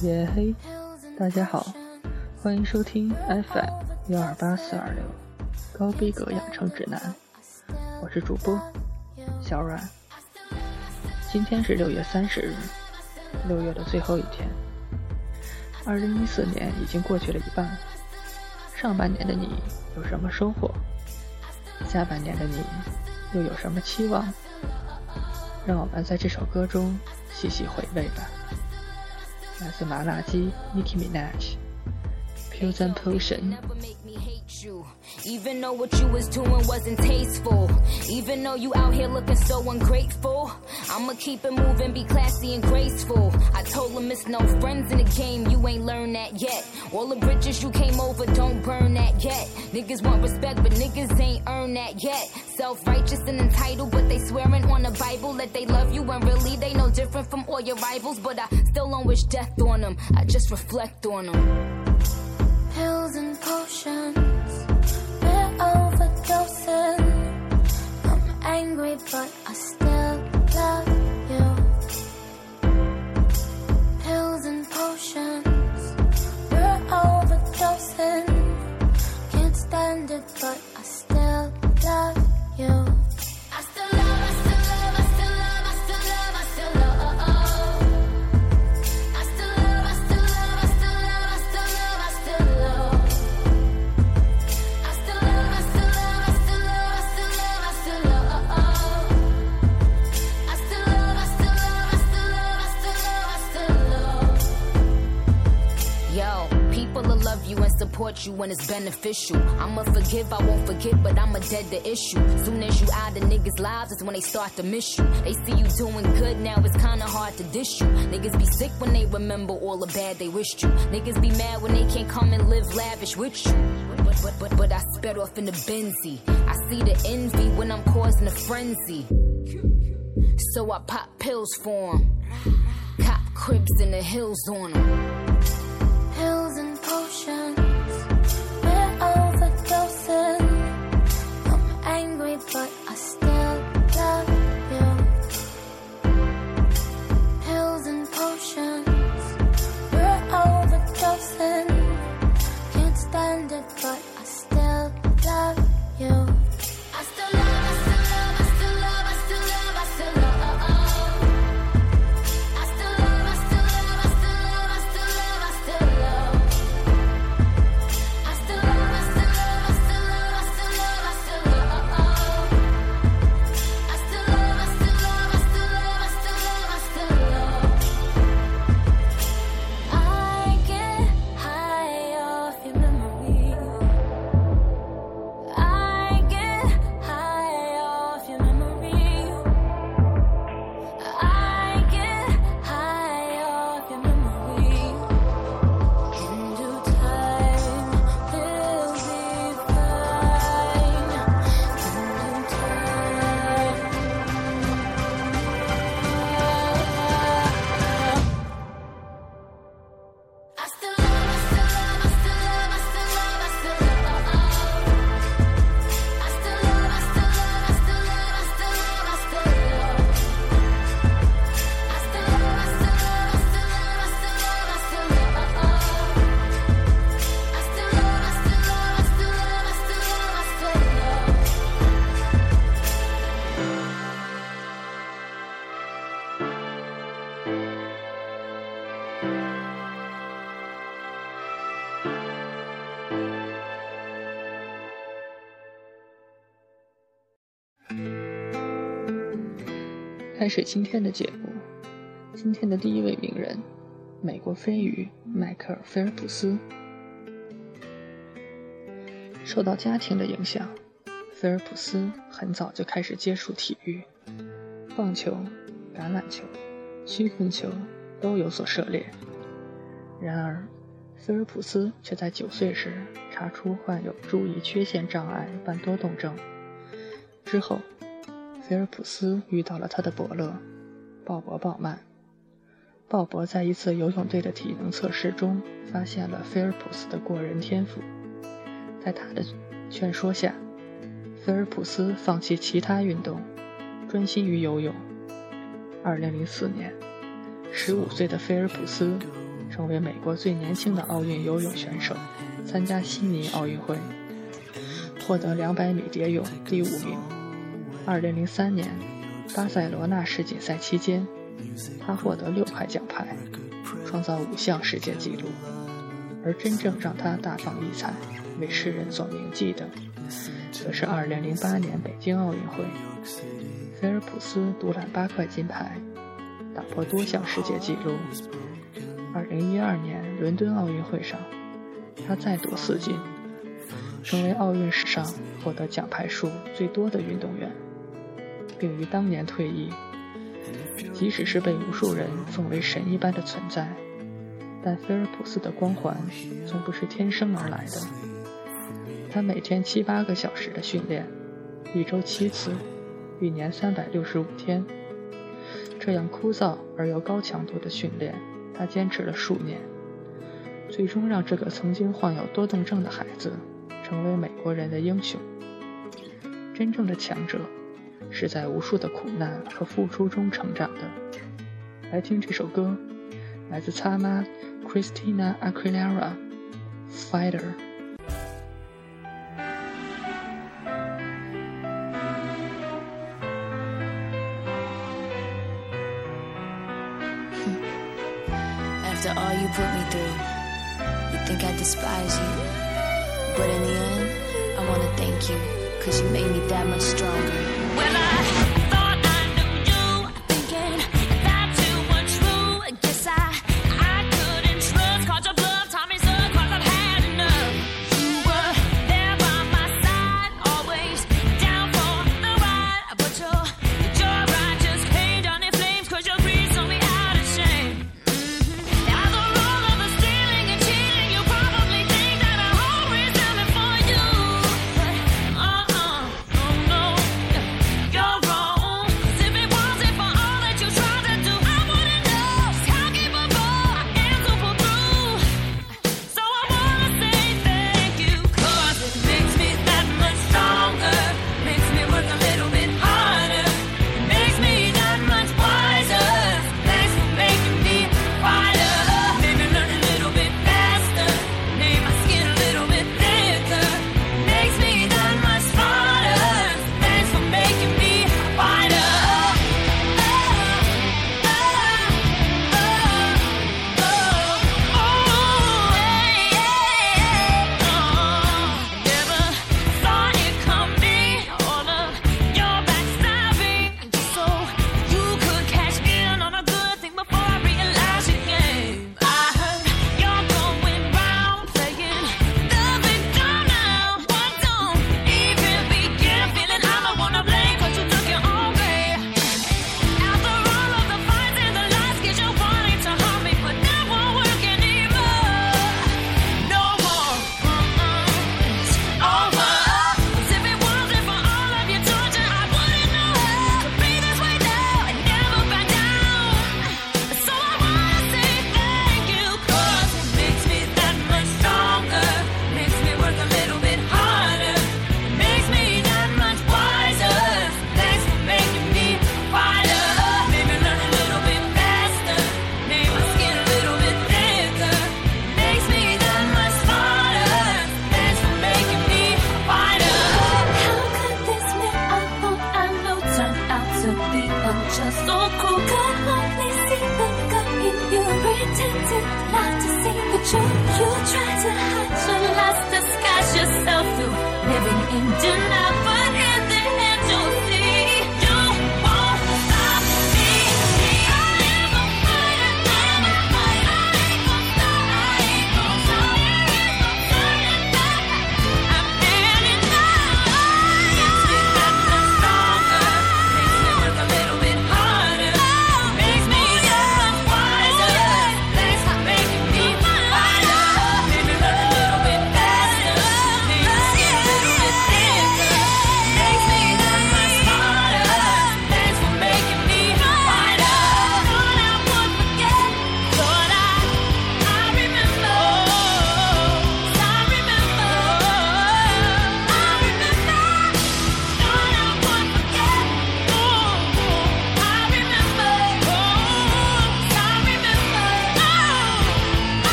耶嘿，大家好，欢迎收听 FM128-426高逼格养成指南，我是主播小阮。今天是6月30日，6月的最后一天。2014年已经过去了一半，上半年的你有什么收获？下半年的你又有什么期望？让我们在这首歌中细细回味吧。来自麻辣鸡 Nicki Minaj Pills and Potion。 Even though what you was doing wasn't tasteful, even though you out here looking so ungrateful, I'ma keep it moving, be classy and graceful. I told him it's no friends in the game, you ain't learned that yet. All the bridges you came over, don't burn that yet. Niggas want respect, but niggas ain't earned that yet. Self-righteous and entitled, but they swearing on the Bible that they love you, and really they no different from all your rivals. But I still don't wish death on them, I just reflect on them. Pills and potions, we're overdosing. I'm angry, but I still love you. Pills and potions, we're overdosing. Can't stand it, but I still love you. I still love, I still love, I still love, I still love, I still love. I still love, I still love, I still love, I still love, I still love. I still love, I still love, I still love, I still love, I still love. I still love, I still love, I still love, I still love, I still love. Yo, people will love you and support you when it's beneficial. I'ma forgive, I won't forget, but I'ma dead the issue. Soon as you out of niggas' lives, is when they start to miss you. They see you doing good, now it's kinda hard to dish you. Niggas be sick when they remember all the bad they wished you. Niggas be mad when they can't come and live lavish with you. But I sped off in the Benzie. I see the envy when I'm causing a frenzy. So I pop pills for 'em. Cop cribs in the hills on 'em. Pills and potions, we're overdosing. I'm angry, but I still love you. Pills and potions, we're overdosing. Can't stand it, but I still love you. I still love, I still love, I still love, I still love, I still love. I still love, I still love, I still love, I still love, I still love. I still love, I still love, I still love, I still love, I still love. I still love, I still love, I still love, I still love, I still love. I get high off your memory. I get high off your memory. I get high off your memory. In due time, we'll be fine. In due time. I still love, I still love, I still love, I still love, I still love. I still love, I still love, I still love, I still love, I still love. I still love, I still love, I still love, I still love, I still love. I still love, I still love, I still love, I still love, I still love. 开始今天的节目。今天的第一位名人，美国飞鱼迈克尔·菲尔普斯。受到家庭的影响，菲尔普斯很早就开始接触体育，棒球、橄榄球、曲棍球都有所涉猎。然而，菲尔普斯却在9岁时查出患有注意缺陷障碍半多动症。之后，菲尔普斯遇到了他的伯乐鲍勃·鲍曼。鲍勃在一次游泳队的体能测试中发现了菲尔普斯的过人天赋，在他的劝说下，菲尔普斯放弃其他运动，专心于游泳。2004年，15岁的菲尔普斯成为美国最年轻的奥运游泳选手，参加悉尼奥运会，获得200米蝶泳第5名。2003年巴塞罗那世锦赛期间，他获得6块奖牌，创造5项世界纪录。而真正让他大放异彩，为世人所铭记的，则是2008年北京奥运会，菲尔普斯独揽8块金牌，打破多项世界纪录。2012年伦敦奥运会上，他再夺4金，成为奥运史上获得奖牌数最多的运动员，并于当年退役。即使是被无数人奉为神一般的存在，但菲尔普斯的光环从不是天生而来的。他每天7-8个小时的训练，1周7次，一年365天，这样枯燥而又高强度的训练，他坚持了数年，最终让这个曾经患有多动症的孩子成为美国人的英雄。真正的强者是在无数的苦难和付出中成长的。来听这首歌，来自擦妈 Christina Aguilera Fighter。 After all you put me through, you think I despise you, but in the end, I wanna thank you, 'cause you made me that much stronger. Well, I thought I knew you, thinking that you were true. I guess I couldn't trust, caught your bluff, taught me so, 'cause I've had enough. You were there by my side, always down for the ride, but your ride just came down in flames, 'cause your greed saw me out of shame. Now the role of the stealing and cheating, you probably think that I always am it for you, but oh no, you're wrong.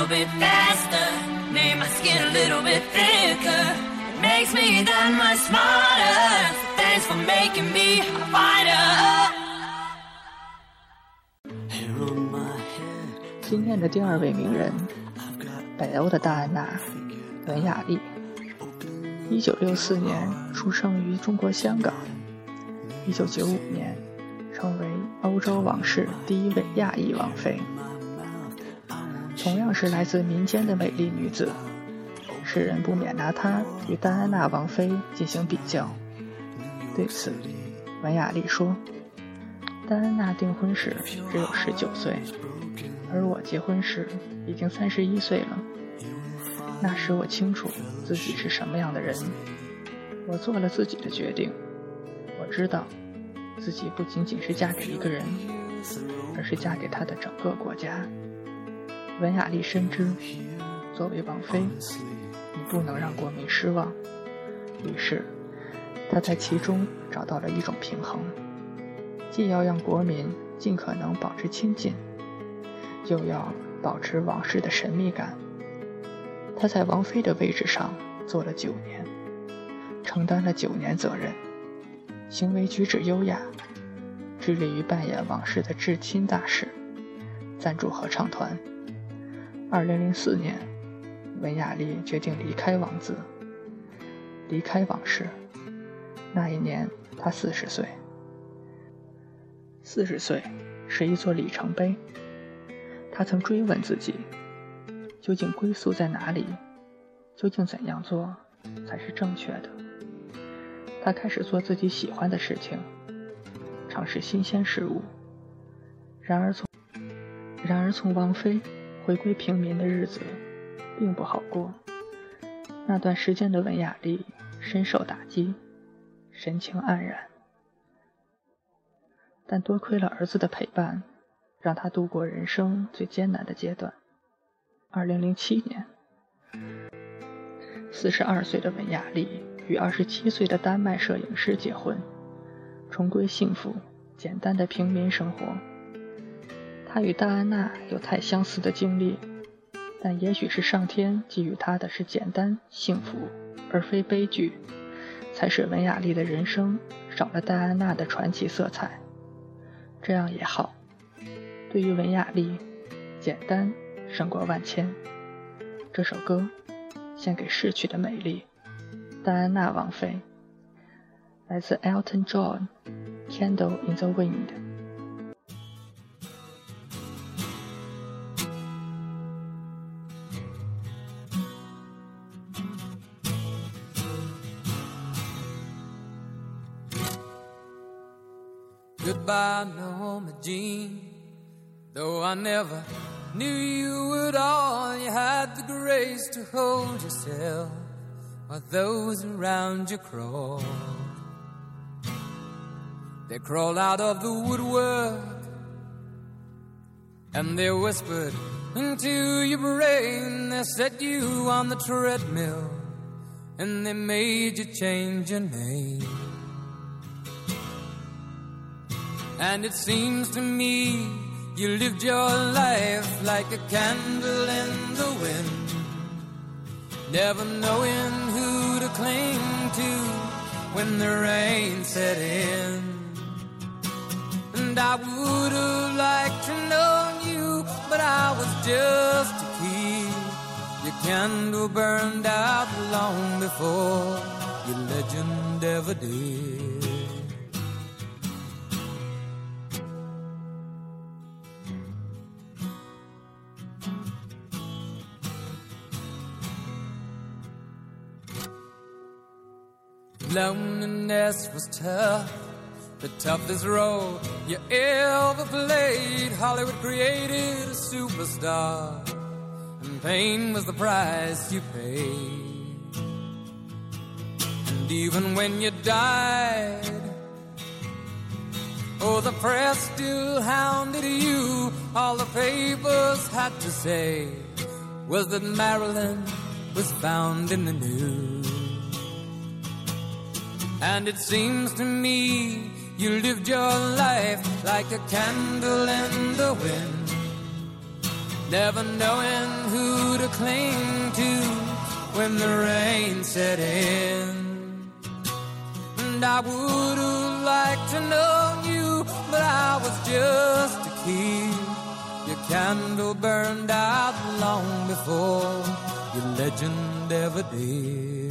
little bit faster, made my skin a little bit thicker. It makes me that much smarter. So thanks for making me a fighter. 今天的第二位名人，北欧的戴安娜·文雅丽，1964年出生于中国香港，1995年成为欧洲王室第一位亚裔王妃。同样是来自民间的美丽女子，世人不免拿她与戴安娜王妃进行比较。对此，文雅丽说：“戴安娜订婚时只有19岁，而我结婚时已经31岁了。那时我清楚自己是什么样的人，我做了自己的决定。我知道自己不仅仅是嫁给一个人，而是嫁给他的整个国家。”文雅丽深知，作为王妃，你不能让国民失望，于是她在其中找到了一种平衡，既要让国民尽可能保持亲近，又要保持王室的神秘感。她在王妃的位置上做了9年，承担了9年责任，行为举止优雅，致力于扮演王室的至亲大使，赞助合唱团。2004年，文雅丽决定离开王子，离开王室。那一年她40岁。40岁是一座里程碑。她曾追问自己，究竟归宿在哪里？究竟怎样做才是正确的？她开始做自己喜欢的事情，尝试新鲜事物。然而从王妃回归平民的日子并不好过。那段时间的文雅丽深受打击，神情黯然，但多亏了儿子的陪伴，让她度过人生最艰难的阶段。2007年，42岁的文雅丽与27岁的丹麦摄影师结婚，重归幸福简单的平民生活。她与戴安娜有太相似的经历，但也许是上天给予她的是简单幸福而非悲剧，才使文雅丽的人生少了戴安娜的传奇色彩。这样也好，对于文雅丽，简单胜过万千。这首歌献给逝去的美丽，戴安娜王妃，来自 Elton John， Candle in the Wind。Goodbye, Norma Jean. Though I never knew you at all, you had the grace to hold yourself while those around you crawled. They crawled out of the woodwork and they whispered into your brain. They set you on the treadmill and they made you change your name. And it seems to me you lived your life like a candle in the wind, never knowing who to cling to when the rain set in. And I would have liked to know you, but I was just a kid. Your candle burned out long before your legend ever did. Loneliness was tough, the toughest role you ever played. Hollywood created a superstar, and pain was the price you paid. And even when you died, oh, the press still hounded you. All the papers had to say was that Marilyn was found in the news. And it seems to me you lived your life like a candle in the wind, never knowing who to cling to when the rain set in. And I would have liked to know you, but I was just a kid. Your candle burned out long before your legend ever did.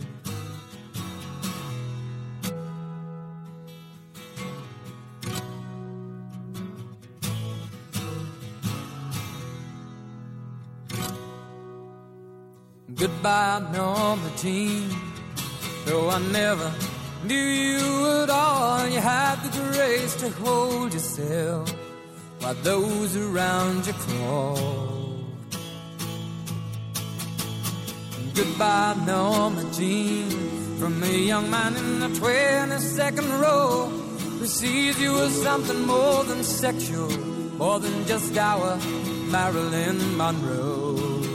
Goodbye, Norma Jean. Though I never knew you at all, you had the grace to hold yourself while those around you crawled. Goodbye, Norma Jean, from a young man in the 22nd row who sees you as something more than sexual, more than just our Marilyn Monroe.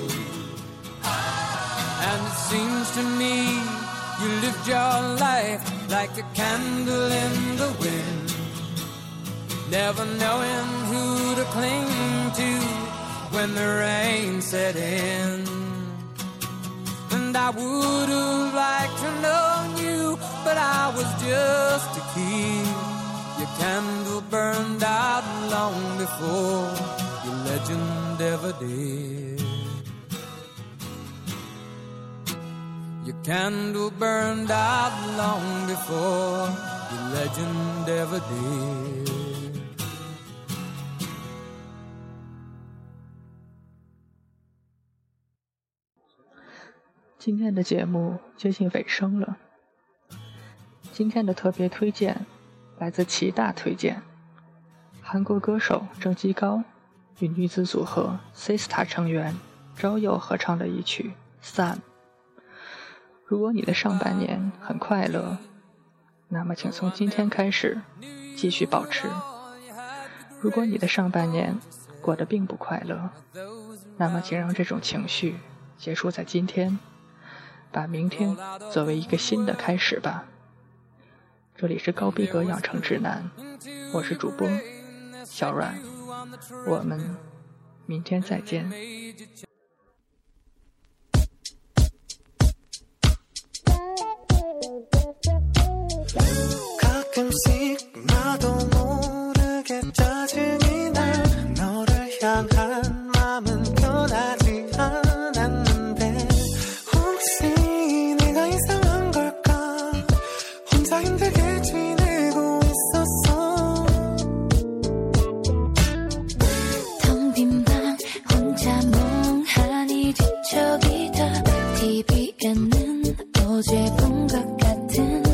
And it seems to me you lived your life like a candle in the wind, never knowing who to cling to when the rain set in. And I would have liked to know you, but I was just a kid. Your candle burned out long before your legend ever did. Your candle burned out long before your legend ever did. 今天的节目接近尾声了。今天的特别推荐来自齐大推荐，韩国歌手郑基高与女子组合 Sistar 成员朝佑合唱的一曲 Sun。如果你的上半年很快乐，那么请从今天开始继续保持；如果你的上半年过得并不快乐，那么请让这种情绪结束在今天，把明天作为一个新的开始吧。这里是高逼格养成指南，我是主播小阮，我们明天再见。 가끔씩 나도 모르게 짜증이 나 너를 향한 마음은 변하지 않았는데 혹시 내가 이상한 걸까 혼자 힘들게 지내고 있었어 텅 빈 방 혼자 멍하니 뒤척이다 TV에는 어제 본 것 같은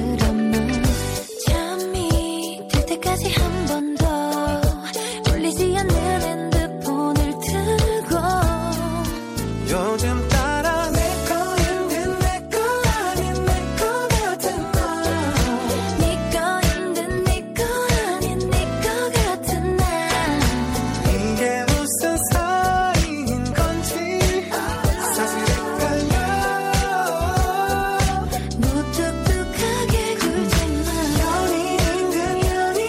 한 번 더 울리지 않는 핸드폰을 들고 요즘 따라 내 거인 내 거 아닌 내 거 같은 날 네 거인 내 거 아닌 내 거 같은 날 이게 무슨 사이인 건지 사실 헷갈려 무뚝뚝하게 굴지만 연인인 듯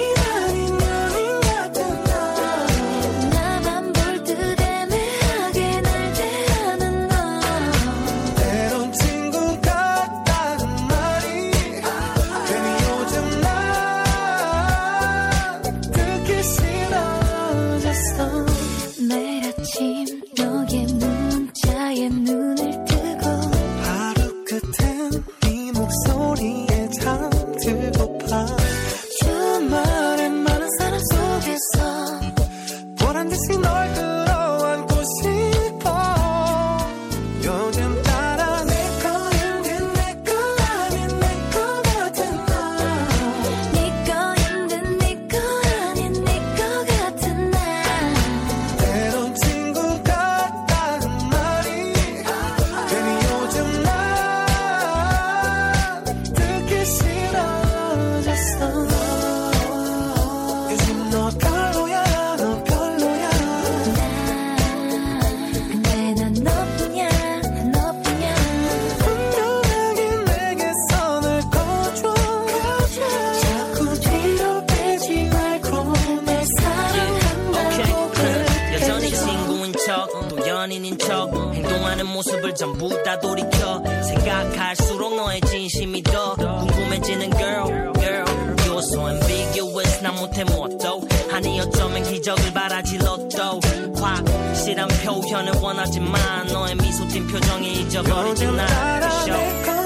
매일 아침 너의 문자에 눈을 뜨고 하루 끝엔 네 목소리에 잠들고파 주말엔 많은 사람 속에서 보란듯이 널 끌어안고 싶어 요즘 따라 내 거인 내 거 아닌 내 거 같은 날 네 거인 내 거 아닌 내 거 같은 날 때론 친구 같다는 또 연인인 척 행동하는 모습을 전부 다 돌이켜 생각할수록 너의 진심이 더 궁금해지는 girl You're so ambiguous 난 못해 뭣도 아니 어쩌면 기적을 바라지 로또 확실한 표현을 원하지만 너의 미소 띈 표정이 잊어버리진 않아